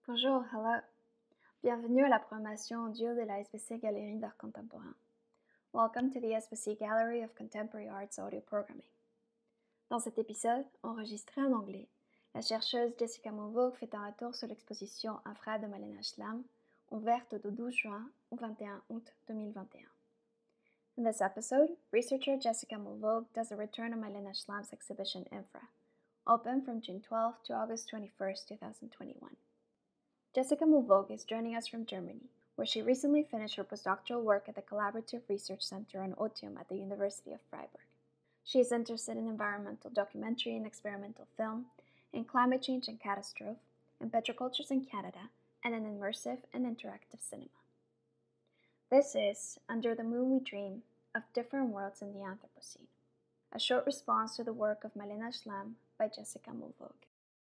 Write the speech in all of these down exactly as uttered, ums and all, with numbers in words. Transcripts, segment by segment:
Bonjour, hello. Bienvenue à la programmation audio de la S B C Galerie d'Art Contemporain. Welcome to the S B C Gallery of Contemporary Arts Audio Programming. Dans cet épisode, enregistré en anglais, la chercheuse Jessica Mulvogue fait un retour sur l'exposition Infra de Malena Schlam, ouverte du douze juin au vingt et un août deux mille vingt et un. In this episode, researcher Jessica Mulvogue does a return of Malena Schlam's exhibition Infra, open from June twelfth to August twenty-first, twenty twenty-one. Jessica Mulvogue is joining us from Germany, where she recently finished her postdoctoral work at the Collaborative Research Center on Otium at the University of Freiburg. She is interested in environmental documentary and experimental film, in climate change and catastrophe, in petrocultures in Canada, and in immersive and interactive cinema. This is Under the Moon We Dream of Different Worlds in the Anthropocene, a short response to the work of Malena Schlam by Jessica Mulvogue.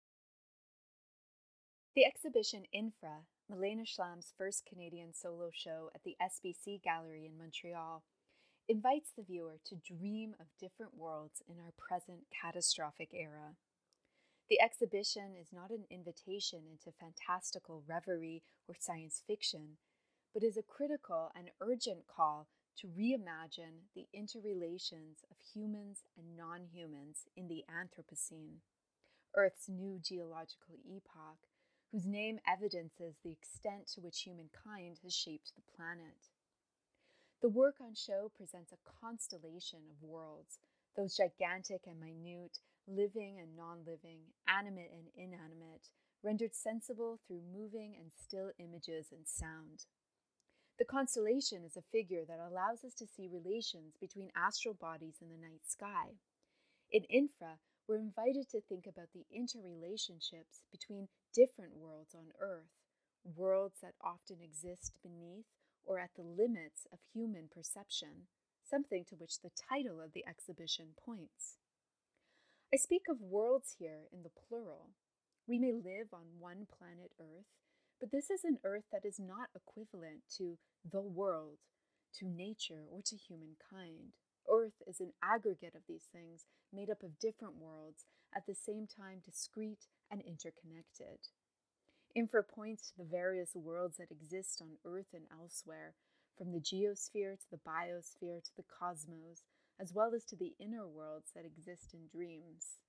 The exhibition Infra, Malena Schlam's first Canadian solo show at the S B C Gallery in Montreal, invites the viewer to dream of different worlds in our present catastrophic era. The exhibition is not an invitation into fantastical reverie or science fiction, but is a critical and urgent call to reimagine the interrelations of humans and non-humans in the Anthropocene, Earth's new geological epoch, whose name evidences the extent to which humankind has shaped the planet. The work on show presents a constellation of worlds, those gigantic and minute, living and non-living, animate and inanimate, rendered sensible through moving and still images and sound. The constellation is a figure that allows us to see relations between astral bodies in the night sky. In Infra, we're invited to think about the interrelationships between different worlds on Earth, worlds that often exist beneath or at the limits of human perception, something to which the title of the exhibition points. I speak of worlds here in the plural. We may live on one planet Earth, but this is an Earth that is not equivalent to the world, to nature, or to humankind. Earth is an aggregate of these things made up of different worlds, at the same time discrete and interconnected. Infra points to the various worlds that exist on Earth and elsewhere, from the geosphere to the biosphere to the cosmos, as well as to the inner worlds that exist in dreams.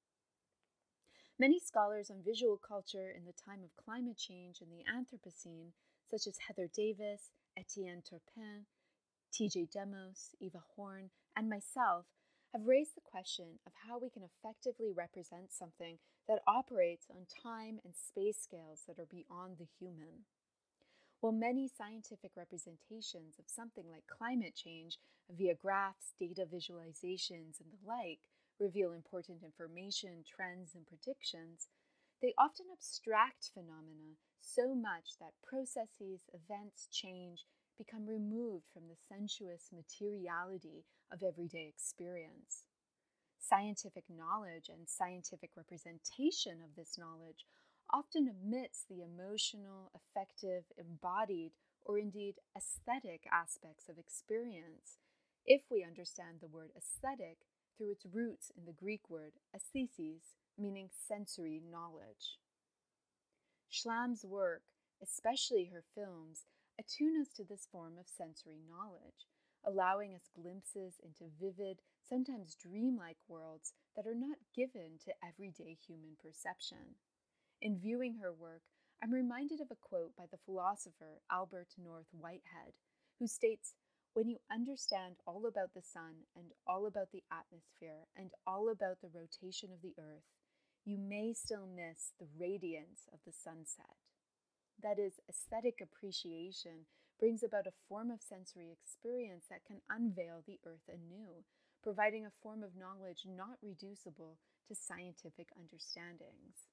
Many scholars on visual culture in the time of climate change and the Anthropocene, such as Heather Davis, Etienne Turpin, T J Demos, Eva Horn, and myself, have raised the question of how we can effectively represent something that operates on time and space scales that are beyond the human. While many scientific representations of something like climate change via graphs, data visualizations, and the like reveal important information, trends, and predictions, they often abstract phenomena so much that processes, events, change, become removed from the sensuous materiality of everyday experience. Scientific knowledge and scientific representation of this knowledge often omits the emotional, affective, embodied, or indeed aesthetic aspects of experience, if we understand the word aesthetic through its roots in the Greek word aesthesis, meaning sensory knowledge. Schlam's work, especially her films, attune us to this form of sensory knowledge, allowing us glimpses into vivid, sometimes dreamlike worlds that are not given to everyday human perception. In viewing her work, I'm reminded of a quote by the philosopher Albert North Whitehead, who states, "When you understand all about the sun and all about the atmosphere and all about the rotation of the earth, you may still miss the radiance of the sunset." That is, aesthetic appreciation brings about a form of sensory experience that can unveil the earth anew, providing a form of knowledge not reducible to scientific understandings.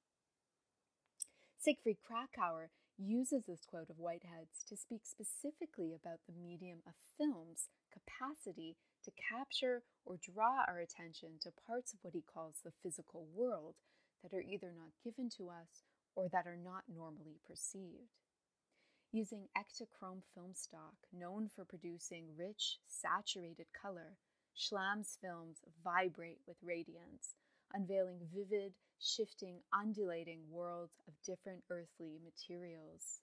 Siegfried Kracauer uses this quote of Whitehead's to speak specifically about the medium of film's capacity to capture or draw our attention to parts of what he calls the physical world that are either not given to us or that are not normally perceived. Using Ektachrome film stock, known for producing rich, saturated color, Schlam's films vibrate with radiance, unveiling vivid, shifting, undulating worlds of different earthly materials.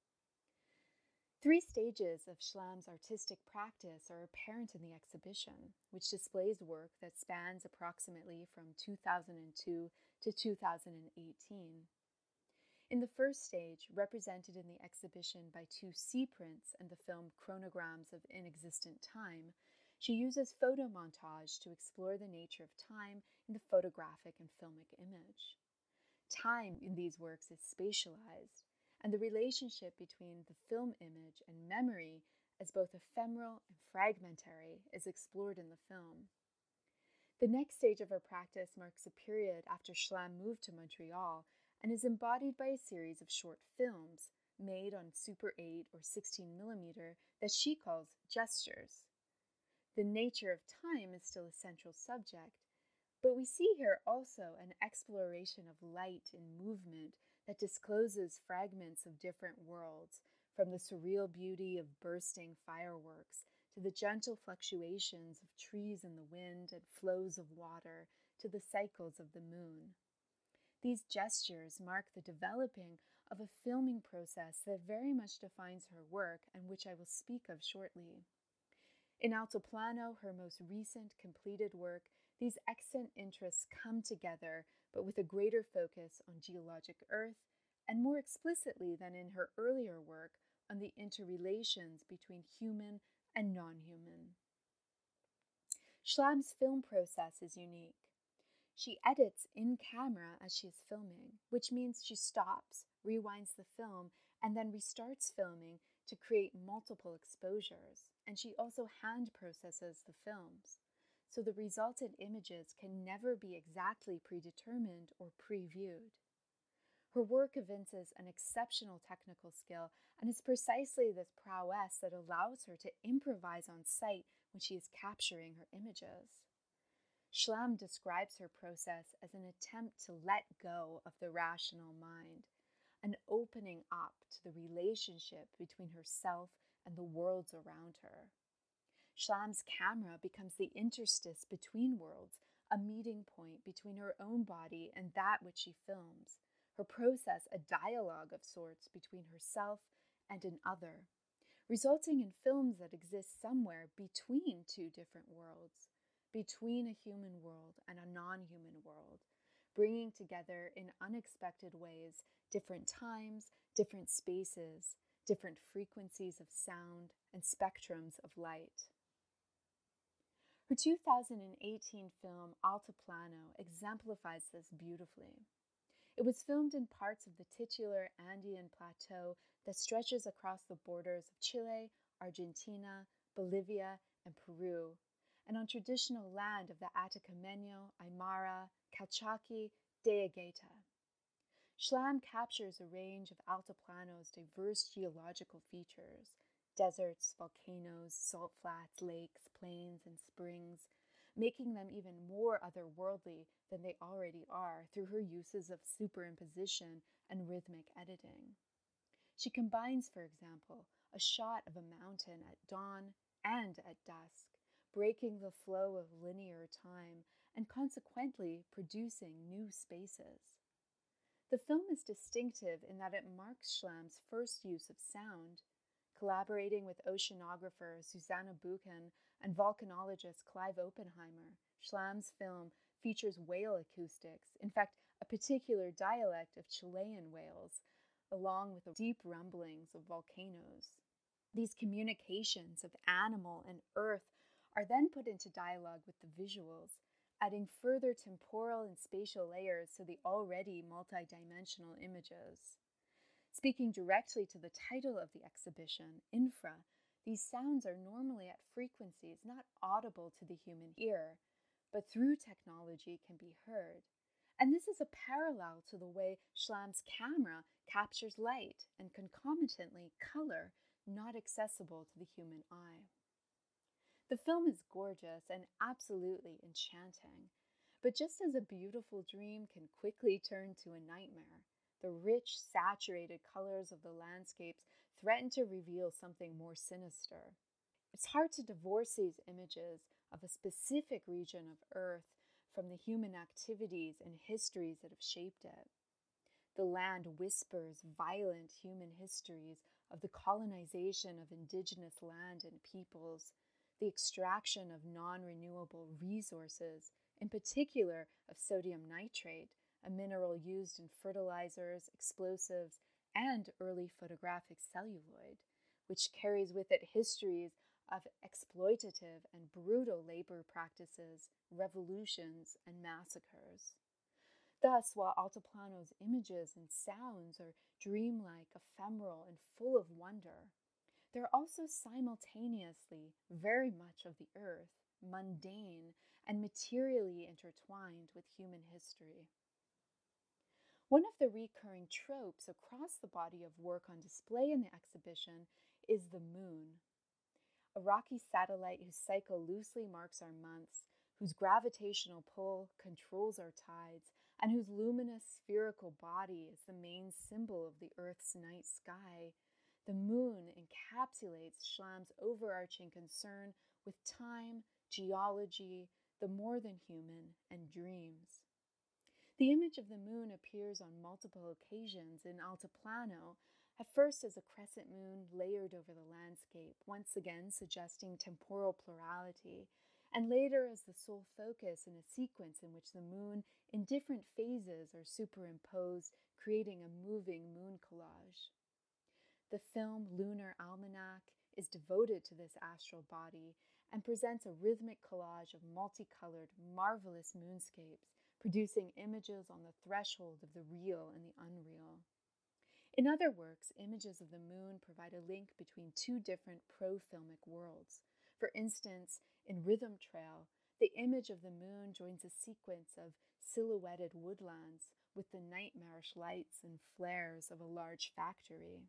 Three stages of Schlam's artistic practice are apparent in the exhibition, which displays work that spans approximately from two thousand two to two thousand eighteen. In the first stage, represented in the exhibition by two sea prints and the film Chronograms of Inexistent Time, she uses photo montage to explore the nature of time in the photographic and filmic image. Time in these works is spatialized, and the relationship between the film image and memory as both ephemeral and fragmentary is explored in the film. The next stage of her practice marks a period after Schlam moved to Montreal and is embodied by a series of short films made on Super eight or sixteen millimeter that she calls gestures. The nature of time is still a central subject, but we see here also an exploration of light and movement that discloses fragments of different worlds, from the surreal beauty of bursting fireworks to the gentle fluctuations of trees in the wind and flows of water to the cycles of the moon. These gestures mark the developing of a filming process that very much defines her work and which I will speak of shortly. In Altoplano, her most recent completed work, these extant interests come together, but with a greater focus on geologic Earth, and more explicitly than in her earlier work, on the interrelations between human and non-human. Schlam's film process is unique. She edits in camera as she is filming, which means she stops, rewinds the film, and then restarts filming to create multiple exposures, and she also hand processes the films. So the resultant images can never be exactly predetermined or previewed. Her work evinces an exceptional technical skill, and it's precisely this prowess that allows her to improvise on site when she is capturing her images. Schlam describes her process as an attempt to let go of the rational mind, an opening up to the relationship between herself and the worlds around her. Schlam's camera becomes the interstice between worlds, a meeting point between her own body and that which she films, her process a dialogue of sorts between herself and an other, resulting in films that exist somewhere between two different worlds, between a human world and a non-human world, bringing together in unexpected ways different times, different spaces, different frequencies of sound, and spectrums of light. Her two thousand eighteen film Altoplano exemplifies this beautifully. It was filmed in parts of the titular Andean plateau that stretches across the borders of Chile, Argentina, Bolivia, and Peru, and on traditional land of the Atacameño, Aymara, Calchaquí, Dayagata. Schlam captures a range of Altoplano's diverse geological features: deserts, volcanoes, salt flats, lakes, plains, and springs, making them even more otherworldly than they already are through her uses of superimposition and rhythmic editing. She combines, for example, a shot of a mountain at dawn and at dusk, breaking the flow of linear time and consequently producing new spaces. The film is distinctive in that it marks Schlam's first use of sound. Collaborating with oceanographer Susanna Buchan and volcanologist Clive Oppenheimer, Schlam's film features whale acoustics, in fact, a particular dialect of Chilean whales, along with the deep rumblings of volcanoes. These communications of animal and earth are then put into dialogue with the visuals, adding further temporal and spatial layers to the already multidimensional images. Speaking directly to the title of the exhibition, infra, these sounds are normally at frequencies not audible to the human ear, but through technology can be heard. And this is a parallel to the way Schlam's camera captures light and concomitantly color not accessible to the human eye. The film is gorgeous and absolutely enchanting, but just as a beautiful dream can quickly turn to a nightmare, the rich, saturated colors of the landscapes threaten to reveal something more sinister. It's hard to divorce these images of a specific region of Earth from the human activities and histories that have shaped it. The land whispers violent human histories of the colonization of indigenous land and peoples, the extraction of non-renewable resources, in particular of sodium nitrate, a mineral used in fertilizers, explosives, and early photographic celluloid, which carries with it histories of exploitative and brutal labor practices, revolutions, and massacres. Thus, while Altiplano's images and sounds are dreamlike, ephemeral, and full of wonder, they're also simultaneously very much of the earth, mundane, and materially intertwined with human history. One of the recurring tropes across the body of work on display in the exhibition is the moon, a rocky satellite whose cycle loosely marks our months, whose gravitational pull controls our tides, and whose luminous spherical body is the main symbol of the Earth's night sky. The moon encapsulates Schlam's overarching concern with time, geology, the more than human, and dreams. The image of the moon appears on multiple occasions in Altiplano, at first as a crescent moon layered over the landscape, once again suggesting temporal plurality, and later as the sole focus in a sequence in which the moon in different phases are superimposed, creating a moving moon collage. The film Lunar Almanac is devoted to this astral body and presents a rhythmic collage of multicolored, marvelous moonscapes, producing images on the threshold of the real and the unreal. In other works, images of the moon provide a link between two different pro-filmic worlds. For instance, in Rhythm Trail, the image of the moon joins a sequence of silhouetted woodlands with the nightmarish lights and flares of a large factory.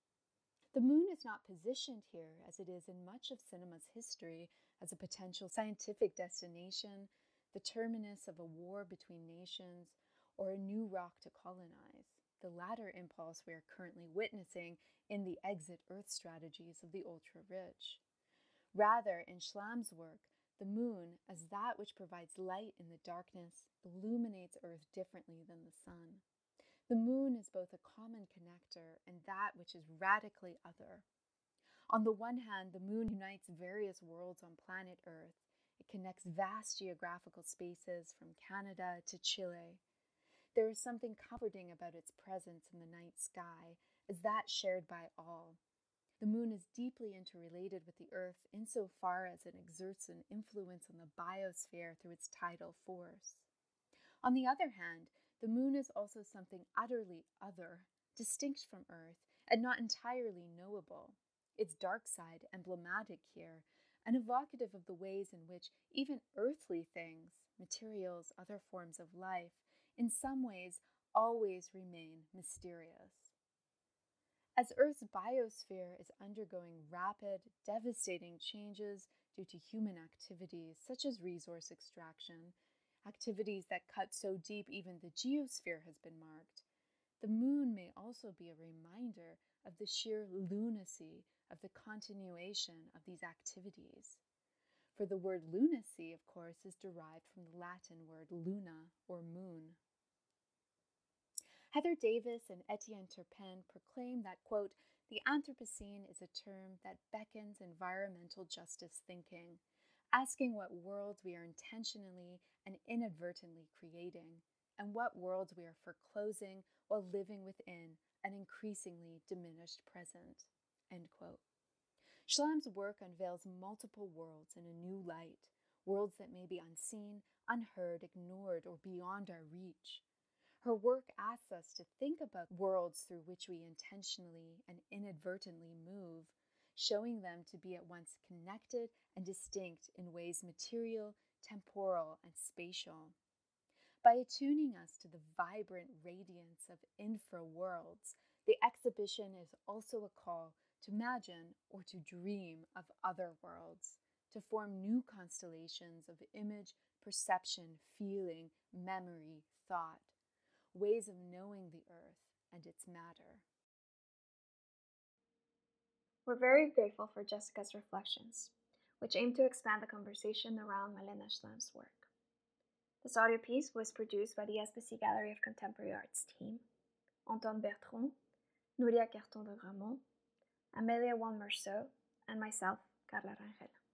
The moon is not positioned here, as it is in much of cinema's history, as a potential scientific destination, the terminus of a war between nations, or a new rock to colonize, the latter impulse we are currently witnessing in the exit Earth strategies of the ultra-rich. Rather, in Schlam's work, the moon, as that which provides light in the darkness, illuminates Earth differently than the sun. The moon is both a common connector and that which is radically other. On the one hand, the moon unites various worlds on planet Earth. It connects vast geographical spaces from Canada to Chile. There is something comforting about its presence in the night sky, as that shared by all. The moon is deeply interrelated with the Earth insofar as it exerts an influence on the biosphere through its tidal force. On the other hand, the moon is also something utterly other, distinct from Earth, and not entirely knowable. Its dark side emblematic here, and evocative of the ways in which even earthly things, materials, other forms of life, in some ways always remain mysterious. As Earth's biosphere is undergoing rapid, devastating changes due to human activities such as resource extraction, activities that cut so deep even the geosphere has been marked, the moon may also be a reminder of the sheer lunacy of the continuation of these activities. For the word lunacy, of course, is derived from the Latin word luna, or moon. Heather Davis and Etienne Turpin proclaim that, quote, the Anthropocene is a term that beckons environmental justice thinking, asking what worlds we are intentionally and inadvertently creating, and what worlds we are foreclosing while living within an increasingly diminished present, end quote. Schlam's work unveils multiple worlds in a new light, worlds that may be unseen, unheard, ignored, or beyond our reach. Her work asks us to think about worlds through which we intentionally and inadvertently move, showing them to be at once connected and distinct in ways material, temporal, and spatial. By attuning us to the vibrant radiance of infra-worlds, the exhibition is also a call to imagine or to dream of other worlds, to form new constellations of image, perception, feeling, memory, thought, ways of knowing the earth and its matter. We're very grateful for Jessica's reflections, which aim to expand the conversation around Malena Schlam's work. This audio piece was produced by the S B C Gallery of Contemporary Arts team, Antoine Bertrand, Nuria Carton de Gramont, Amelia Juan Merceau, and myself, Carla Rangel.